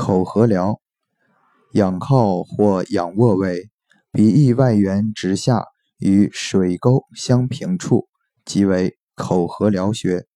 口颌髎，仰靠或仰卧位，鼻翼外缘直下与水沟相平处，即为口颌髎穴。